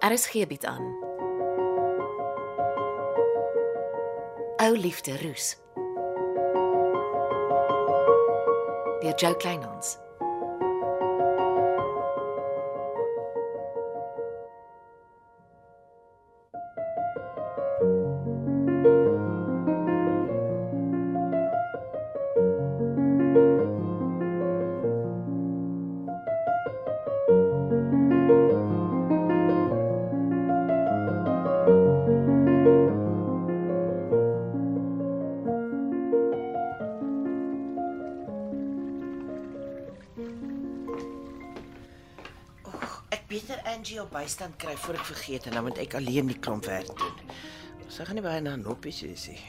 RSG bied aan. Ou liefde roes. Deur Jo Kleinhans. Beter Angie op bystand kry voor ek vergeet en dan moet ek alleen die klomp werk doen. Sy gaan nie baie na noppies wees nie.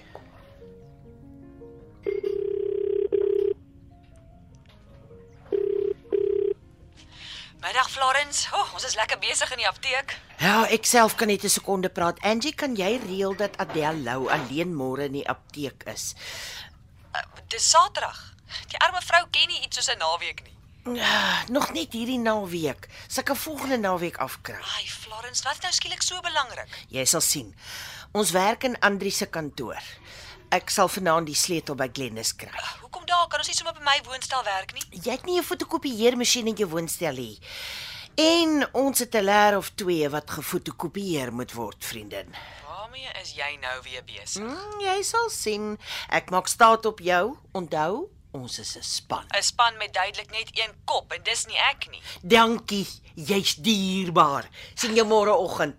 Middag Florence. Ons is lekker besig in die apteek. Ja, ek self kan net 'n sekonde praat. Angie, kan jy reël dat Adele Lou alleen môre in die apteek is? Dis Saterdag. Die arme vrou ken nie iets soos 'n naweek nie. Nog net hierdie naweek. Sy kan volgende naweek afkry. Ai, Florence, wat is nou skielik so belangrik? Jy sal sien. Ons werk in Andri se kantoor. Ek sal vanaand die sleutel by Glennis kry. Hoekom daar? Kan ons nie sommer by my woonstel werk nie? Jy het nie 'n fotokopieermasjien in jou woonstel nie. En ons het 'n leer of 2 wat gefotokopieer moet word, vriendin. Waarmee is jy nou weer besig? Jy sal sien. Ek maak staat op jou. Onthou, ons is 'n span. 'n Span met duidelik net een kop en dis nie ek nie. Dankie, jy's dierbaar. Sien jou môreoggend.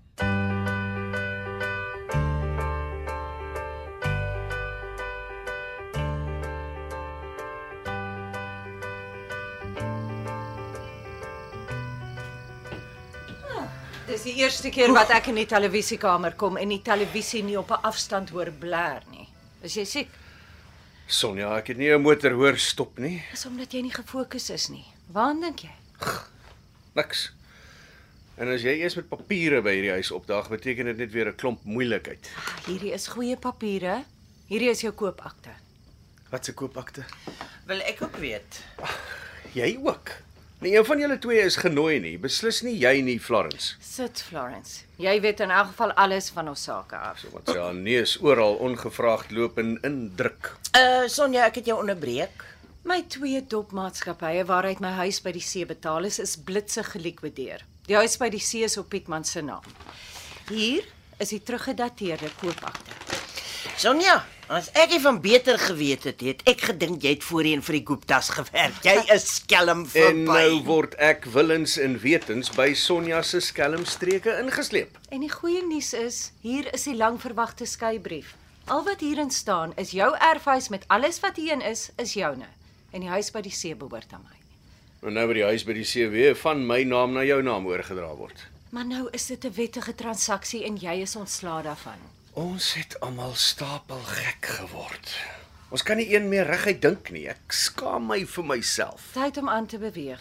Dis die eerste keer wat ek in die televisiekamer kom en die televisie nie op 'n afstand hoor blaar nie. Is jy siek? Sonja, ek het nie 'n motor hoor stop nie. Dis omdat jy nie gefokus is nie. Waaraan dink jy? Niks. En as jy eers met papiere by hierdie huis opdaag, beteken dit net weer 'n klomp moeilikheid. Hierdie is goeie papiere. Hierdie is jou koopakte. Wat se koopakte? Wil ek ook weet. Jy ook. Nee, een van julle twee is genooi nie. Beslis nie jy nie, Florence. Sit, Florence. Jy weet in elk geval alles van ons sake af. So wat sy haar neus oral ongevraagd loop en indruk. Sonja, ek het jou onderbreek. My 2 dopmaatskappye waaruit my huis by die see betaal is blitsig gelikwideer. Die huis by die see is op Pietman se naam. Hier is die teruggedateerde koopakte. Sonja, as ek nie van beter geweet het ek gedink jy het voorheen vir die Guptas gewerk. Jy is skelm verby. En nou word ek willens en wetens by Sonja se skelmstreke ingesleep. En die goeie nuus is, hier is die langverwagte skeibrief. Al wat hierin staan is jou erfhuis met alles wat hierin is joune. En die huis by die see behoort aan my. En nou by die huis by die see weer van my naam na jou naam oorgedra word. Maar nou is dit 'n wettige transaksie en jy is ontslae daarvan. Ons het almal stapel gek geword. Ons kan nie een meer reguit dink nie. Ek skaam my vir myself. Tyd om aan te beweeg.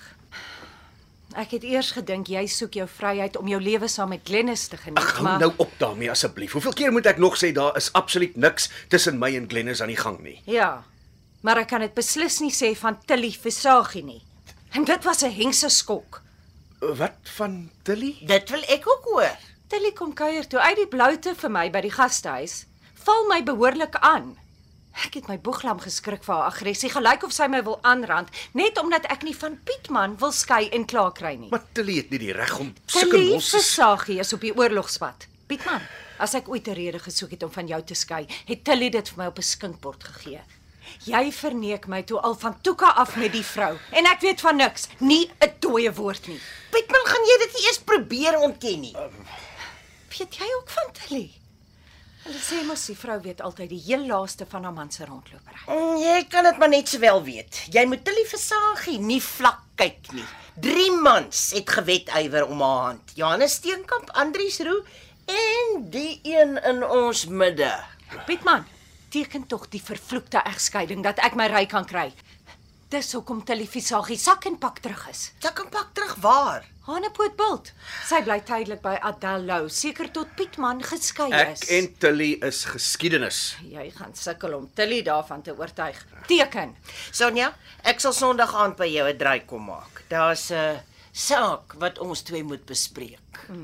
Ek het eers gedink jy soek jou vryheid om jou lewe saam met Glennis te geniet, Hou nou op daarmee asseblief. Hoeveel keer moet ek nog sê daar is absoluut niks tussen my en Glennis aan die gang nie? Ja, maar ek kan dit beslis nie sê van Tilly Visagie nie. En dit was 'n hengse skok. Wat van Tilly? Dit wil ek ook hoor. Tilly kom kuier toe uit die bloute vir my by die gastehuis. Val my behoorlik aan. Ek het my boeglam geskrik vir haar aggressie, gelyk of sy my wil aanrand, net omdat ek nie van Pietman wil skei en klaar kry nie. Maar Tilly het nie die reg om sulke Tilly losse... Visagie is op die oorlogspad. Pietman, as ek ooit 'n rede gesoek het om van jou te skei, het Tilly dit vir my op 'n skinkbord gegee. Jy verneek my toe al van Toeka af met die vrou en ek weet van niks, nie 'n dooie woord nie. Pietman, gaan jy dit eers probeer ontken nie? Weet jy ook van Tilly? Hulle sê mos die vrou weet altyd die heel laaste van haar man se rondlopery. Jy kan dit maar net sowel weet. Jy moet Tilly Visagie nie vlak kyk nie. 3 mans het gewetywer om haar hand. Johannes Steenkamp, Andries Roux en die een in ons midde. Pietman, teken tog die vervloekte egskeiding dat ek my ry kan kry. Dis hoekom Tilly Visagie sak en pak terug is. Sak en pak terug waar? Hanepootbult. Sy bly tydelik by Adele Lou, seker tot Pietman geskei is. Ek en Tilly is geskiedenis. Jy gaan sukkel om Tilly daarvan te oortuig. Teken. Sonja, ek sal Sondag aand by jou 'n draai kom maak. Daar's 'n saak wat ons twee moet bespreek.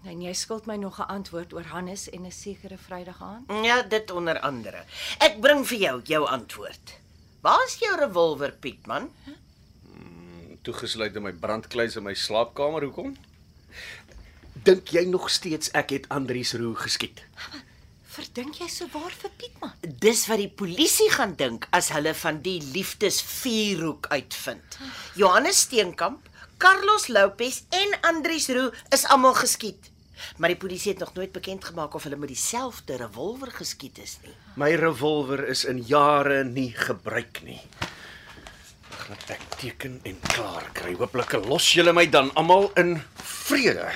En jy skuld my nog 'n antwoord oor Hannes en 'n sekere Vrydag aand? Ja, dit onder andere. Ek bring vir jou antwoord. Waar is jou revolver, Pietman? Toegesluit in my brandkluis in my slaapkamer, hoekom? Dink jy nog steeds ek het Andries Roo geskiet? Verdink jy so waar vir Pietman? Dis wat die polisie gaan dink as hulle van die liefdesvuurhoek uitvind. Johannes Steenkamp, Carlos Lopez en Andries Roo is almal geskiet. Maar die polisie het nog nooit bekend gemaak of hulle met dieselfde revolver geskiet is nie. My revolver is in jare nie gebruik nie. Laat ek teken en klaar kry. Hooplik los julle my dan almal in vrede.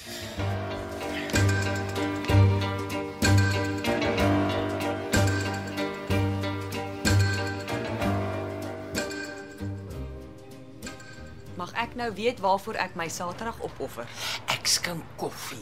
Mag ek nou weet waarvoor ek my Saterdag opoffer? Ek skink koffie.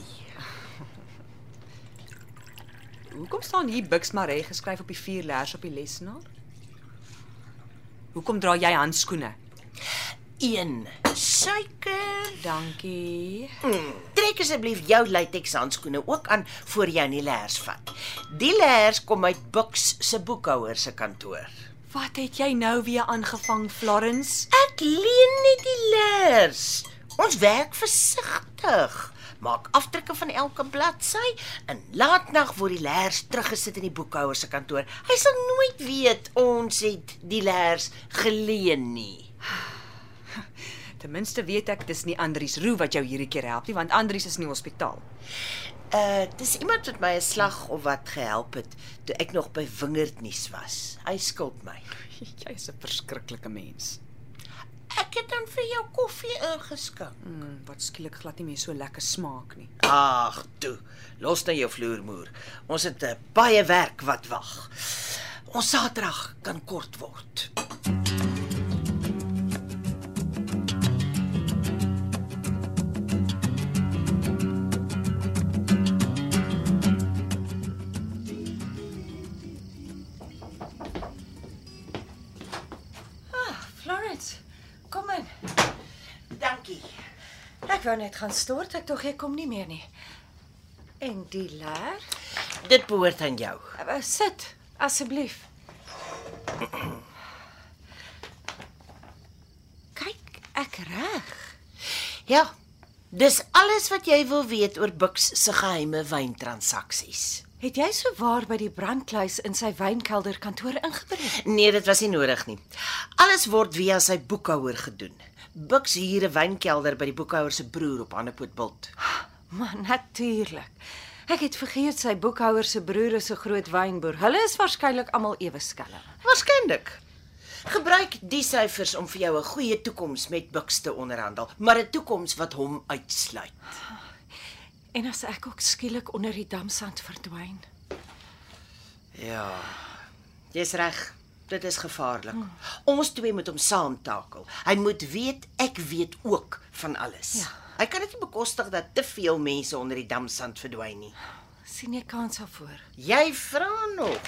Hoekom staan hier Bux Maree geskryf op die 4 leers op die lesenaar? Hoekom dra jy handskoene? 1 suiker. Dankie. Trek asseblief jou latex handskoene ook aan voor jy aan die leers vat. Die leers kom uit Bux se boekhouer se kantoor. Wat het jy nou weer aangevang, Florence? Ek leen net die leers. Ons werk versigtig. Maak afdrukke van elke bladsy en laatnag word die leers teruggesit in die boekhouer se kantoor. Hy sal nooit weet ons het die leers geleen nie. Ten minste weet ek dis nie Andries Roo wat jou hierdie keer help nie, want Andries is in die hospitaal. Dis iemand wat my 'n slag of wat gehelp het toe ek nog by Wingerdnuus was. Hy skuld my. Jy is 'n verskriklike mens. Ek het dan vir jou koffie ingeskink. Wat skielik glad nie meer so lekker smaak nie. Ag, toe. Los nou jou vloermoer. Ons het baie werk wat wag. Ons Saterdag kan kort word. Florence, kom in. Dankie. Ek wou net gaan stort, ek tog jy kom nie meer nie. En die leer? Dit behoort aan jou. Sit, asseblief. Kyk, ek reg. Ja, dis alles wat jy wil weet oor Bux se geheime wyntransaksies. Het jy so waar by die brandkluis in sy wynkelder kantoor ingebreek? Nee, dit was nie nodig nie. Alles word via sy boekhouer gedoen. Bux huur 'n wynkelder by die boekhouer se broer op Hannepootbult. Maar natuurlik. Ek het vergeet sy boekhouer se broer is 'n groot wynboer. Hulle is waarskynlik almal ewe skelm. Waarskynlik. Gebruik die syfers om vir jou 'n goeie toekoms met Bux te onderhandel, maar 'n toekoms wat hom uitsluit. En as ek ook skielik onder die damsand verdwyn. Ja. Jy's reg. Dit is gevaarlik. Ons twee moet hom saamtakel. Hy moet weet ek weet ook van alles. Ja. Hy kan dit nie bekostig dat te veel mense onder die damsand verdwyn nie. Sien jy kans daarvoor? Jy vra nog.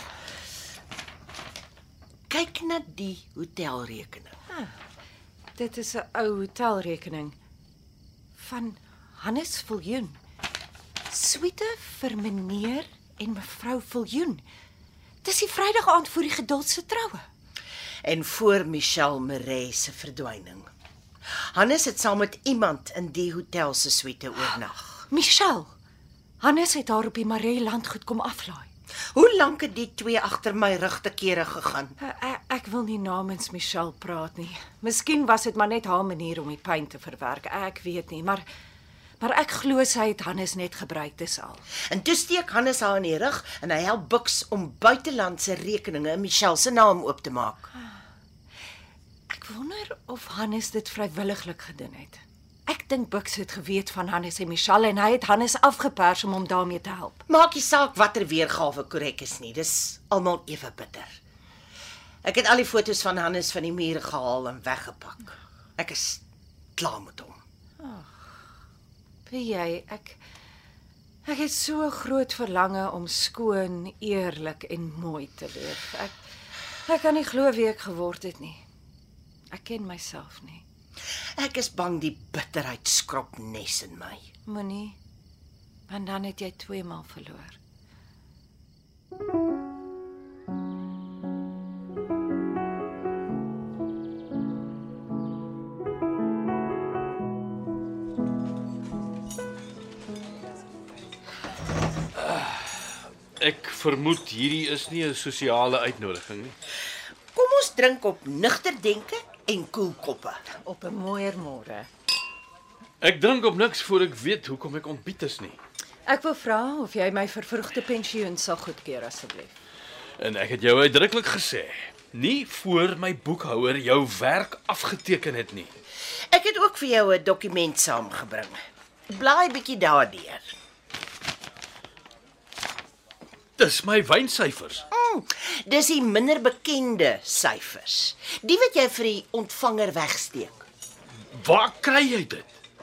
Kyk na die hotelrekening. Dit is 'n ou hotelrekening van Hannes Viljoen. Suite vir meneer en mevrou Viljoen. Dis die Vrydag aand voor die Geduld se troue. En voor Michelle Maree se verdwyning. Hannes het saam met iemand in die hotel se suite oornag. Michelle. Hannes het haar op die Maree landgoed kom aflaai. Hoe lank het die twee agter my rug te kere gegaan? Ek wil nie namens Michelle praat nie. Miskien was dit maar net haar manier om die pyn te verwerk. Ek weet nie, maar ek glo sy het Hannes net gebruik, dis al. En toe steek Hannes haar in die rug en hy help Bux om buitelandse rekeninge in Michelle se naam oop te maak. Ek wonder of Hannes dit vrywilliglik gedoen het. Ek dink Bux het geweet van Hannes en Michelle en hy het Hannes afgepers om hom daarmee te help. Maak nie saak watter weergawe korrek is nie, dis almal ewe bitter. Ek het al die foto's van Hannes van die mure gehaal en weggepak. Ek is klaar met hom. Weet jy, ek het so 'n groot verlange om skoon, eerlik en mooi te leef. Ek kan nie glo wie ek geword het nie. Ek ken myself nie. Ek is bang die bitterheid skrop nes in my. Moenie. Want dan het jy 2 maal verloor. Ek vermoed hierdie is nie 'n sosiale uitnodiging nie. Kom ons drink op nugter denke en koel koppe. Op 'n mooier môre. Ek drink op niks voor ek weet hoekom ek ontbied is nie. Ek wil vra of jy my vervroegde pensioen sal goedkeur asseblief. En ek het jou uitdruklik gesê, nie voor my boekhouer jou werk afgeteken het nie. Ek het ook vir jou 'n dokument saamgebring. Blaai bietjie daardeur. Dis my wynsyfers. Dis die minder bekende syfers. Die wat jy vir die ontvanger wegsteek. Waar kry jy dit?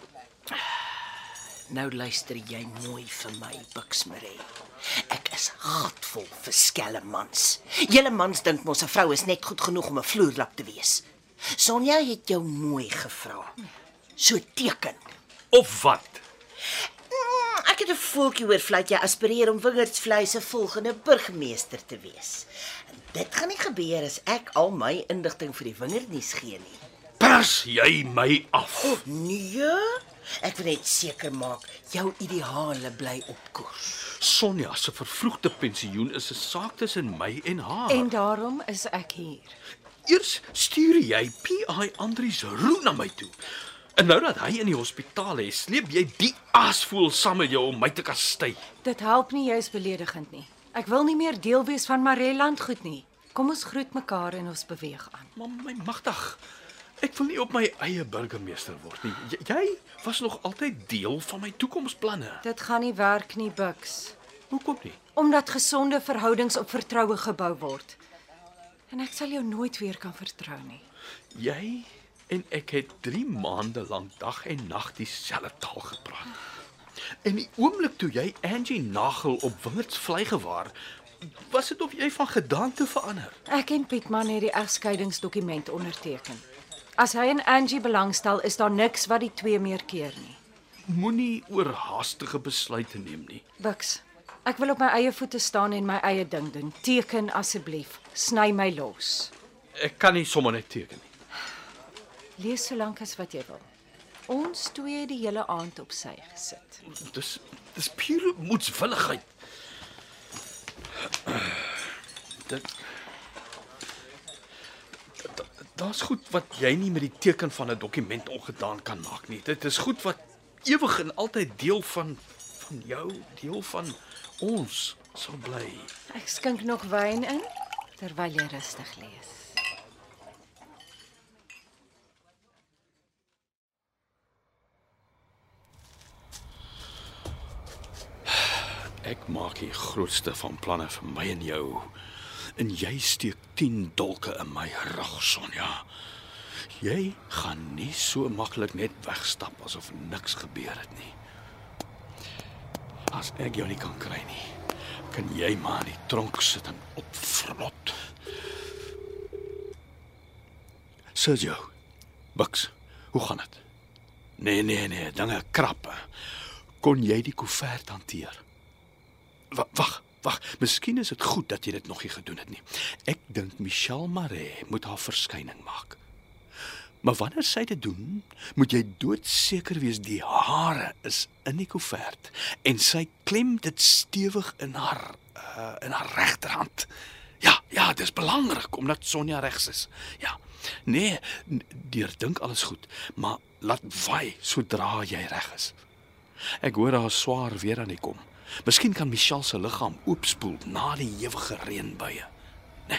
Nou luister jy mooi vir my, Buxmarie. Ek is gatvol vir skelmmans. Julle mans dink mos 'n vrou is net goed genoeg om 'n vloerlap te wees. Sonja het jou mooi gevra. So teken. Of wat? Ek het 'n voeltjie oor vlei jy aspireer om Wingerdsvlei se volgende burgemeester te wees. En dit gaan nie gebeur as ek al my inligting vir die Wingernuus gee nie. Pers jy my af? Nee, ek wil net seker maak jou ideale bly op koers. Sonja se vervroegde pensioen is 'n saak tussen my en haar. En daarom is ek hier. Eers stuur jy PI Andries Roux na my toe. En nou dat hy in die hospitaal is, sleep jy die aasvoël saam met jou om my te kastei. Dit help nie jy's beledigend nie. Ek wil nie meer deel wees van Mareland goed nie. Kom ons groet mekaar en ons beweeg aan. Maar my magtig, ek wil nie op my eie burgemeester word nie. Jy was nog altyd deel van my toekomsplanne. Dit gaan nie werk nie, Bux. Hoekom nie? Omdat gesonde verhoudings op vertroue gebou word. En ek sal jou nooit weer kan vertrou nie. Jy en ek het 3 maande lank dag en nag dieselfde taal gepraat. En die oomblik toe jy Angie Nagel op Wingerdsvlei gewaar, was dit of jy van gedagte verander. Ek en Pietman het die egskeidingsdokument onderteken. As hy en Angie belangstel, is daar niks wat die twee meer keer nie. Moenie oorhaastige besluite neem nie. Bux, ek wil op my eie voete staan en my eie ding doen. Teken asseblief. Sny my los. Ek kan nie sommer net teken nie. Lees so lank as wat jy wil. Ons twee het die hele aand op sy gesit. Dis pure moedswilligheid. Daar's goed wat jy nie met die teken van 'n dokument ongedaan kan maak nie. Dit is goed wat ewig en altyd deel van jou, deel van ons sal bly. Ek skink nog wyn in terwyl jy rustig lees. Ek maak die grootste van planne vir my en jou. En jy steek 10 dolke in my rug, Sonja. Jy gaan nie so maklik net wegstap asof niks gebeur het nie. As ek jou nie kan kry nie, kan jy maar in die tronk sit en opvrot. Sergio, Bux, hoe gaan dit? Nee, dinge krappe. Kon jy die koevert hanteer? Wag. Miskien is dit goed dat jy dit nog nie gedoen het nie. Ek dink Michelle Maree moet haar verskyning maak. Maar wanneer sy dit doen, moet jy doodseker wees die hare is in die koevert en sy klem dit stewig in haar regterhand. Ja, dit is belangrik omdat Sonja regs is. Ja. Nee, dink alles goed, maar laat waai sodra jy reg is. Ek hoor haar swaar weer aan die kom. Miskien kan Michelle se liggaam oopspoel na die ewige reënbuie. Nee.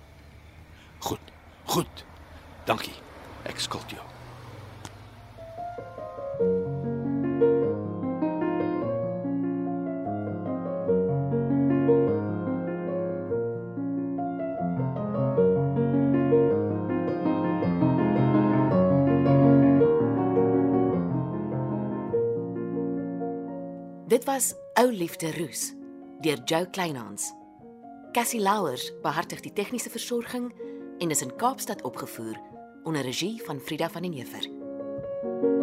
Goed. Dankie. Ek skuld jou. Dit was Ou Liefde Roos deur Jo Kleinhans. Cassie Louwers behartig die tegniese versorging en is in Kaapstad opgevoer onder regie van Frida van den Heever.